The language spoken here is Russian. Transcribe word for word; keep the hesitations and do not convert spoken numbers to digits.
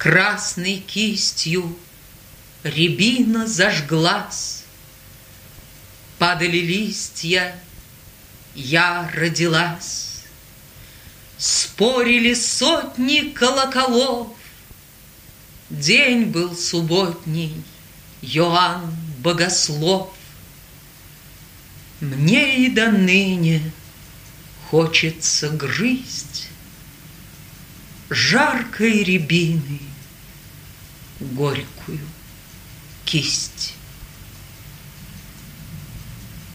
Красной кистью рябина зажглась, падали листья, я родилась. Спорили сотни колоколов, день был субботний, Иоанн Богослов. Мне и до ныне хочется грызть жаркой рябины горькую кисть.